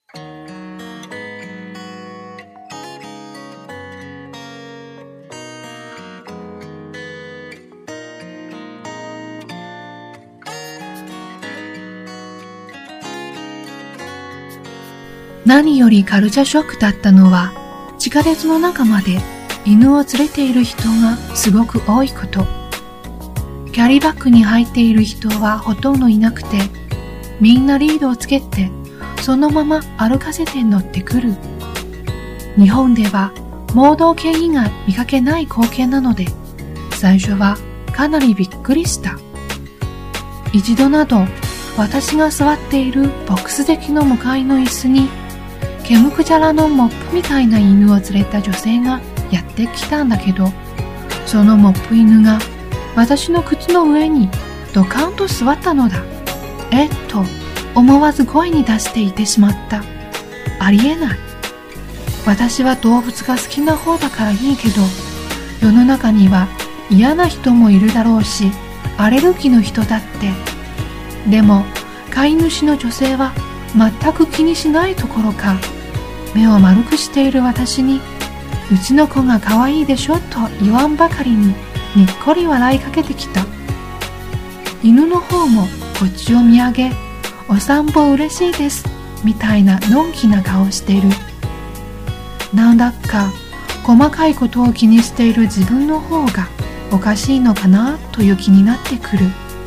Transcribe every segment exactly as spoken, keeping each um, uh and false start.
何よりカルチャーショックだったのは、地下鉄の中まで犬を連れている人がすごく多いこと。キャリーバッグに入っている人はほとんどいなくて、みんなリードをつけて、そのまま歩かせて乗ってくる。日本では盲導犬以外見かけない光景なので、最初はかなりびっくりした。一度など、私が座っているボックス席の向かいの椅子に、ケムクジャラのモップみたいな犬を連れた女性がやってきたんだけど、そのモップ犬が私の靴の上にドカンと座ったのだ。えっと、思わず声に出していてしまった。ありえない。私は動物が好きな方だからいいけど、世の中には嫌な人もいるだろうし、アレルギーの人だって。でも、飼い主の女性は全く気にしないところか、目を丸くしている私に、うちの子が可愛いでしょと言わんばかりににっこり笑いかけてきた。犬の方もこっちを見上げ、お散歩嬉しいですみたいなのんきな顔をしている。なんだか細かいことを気にしている自分の方がおかしいのかなという気になってくる。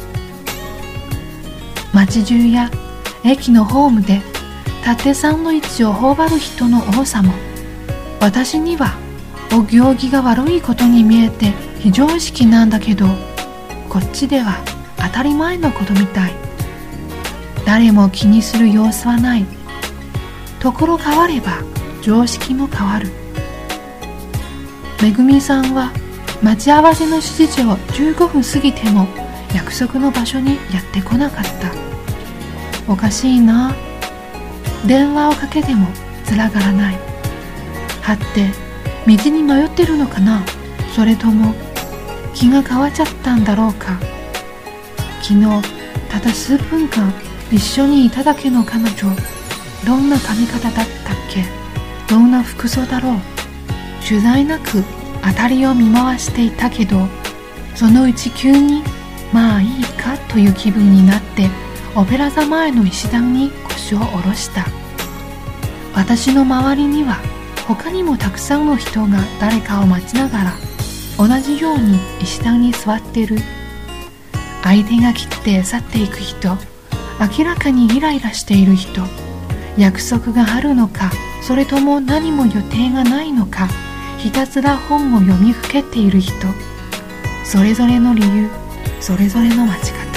街中や駅のホームで立ってサンドイッチを頬張る人の多さも、私にはお行儀が悪いことに見えて非常識なんだけど、こっちでは当たり前のことみたい。誰も気にする様子はない。ところ変われば常識も変わる。めぐみさんは待ち合わせの指示をじゅうごふん過ぎても約束の場所にやってこなかった。おかしいな。電話をかけてもつながらない。はって道に迷ってるのかな。それとも気が変わっちゃったんだろうか。昨日ただ数分間一緒にいただけの彼女、どんな髪型だったっけ。どんな服装だろう。取材なく当たりを見回していたけど、そのうち急にまあいいかという気分になって、オペラ座前の石段に腰を下ろした。私の周りには他にもたくさんの人が誰かを待ちながら同じように石段に座っている。相手が切って去っていく人、明らかにイライラしている人、約束があるのか、それとも何も予定がないのか、ひたすら本を読みふけている人、それぞれの理由、それぞれの待ち方。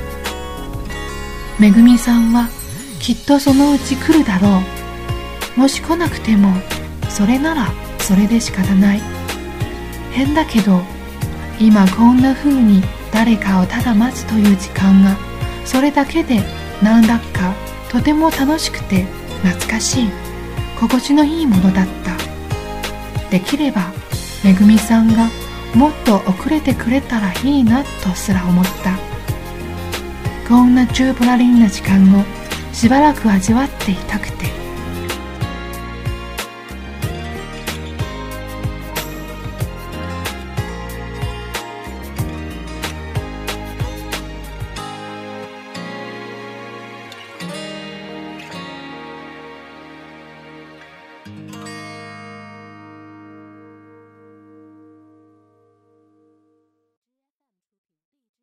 めぐみさんはきっとそのうち来るだろう。もし来なくてもそれならそれで仕方ない。変だけど今こんな風に誰かをただ待つという時間が、それだけでなんだかとても楽しくて懐かしい、心地のいいものだった。できればめぐみさんがもっと遅れてくれたらいいなとすら思った。こんなチューブラリンな時間をしばらく味わっていたくて。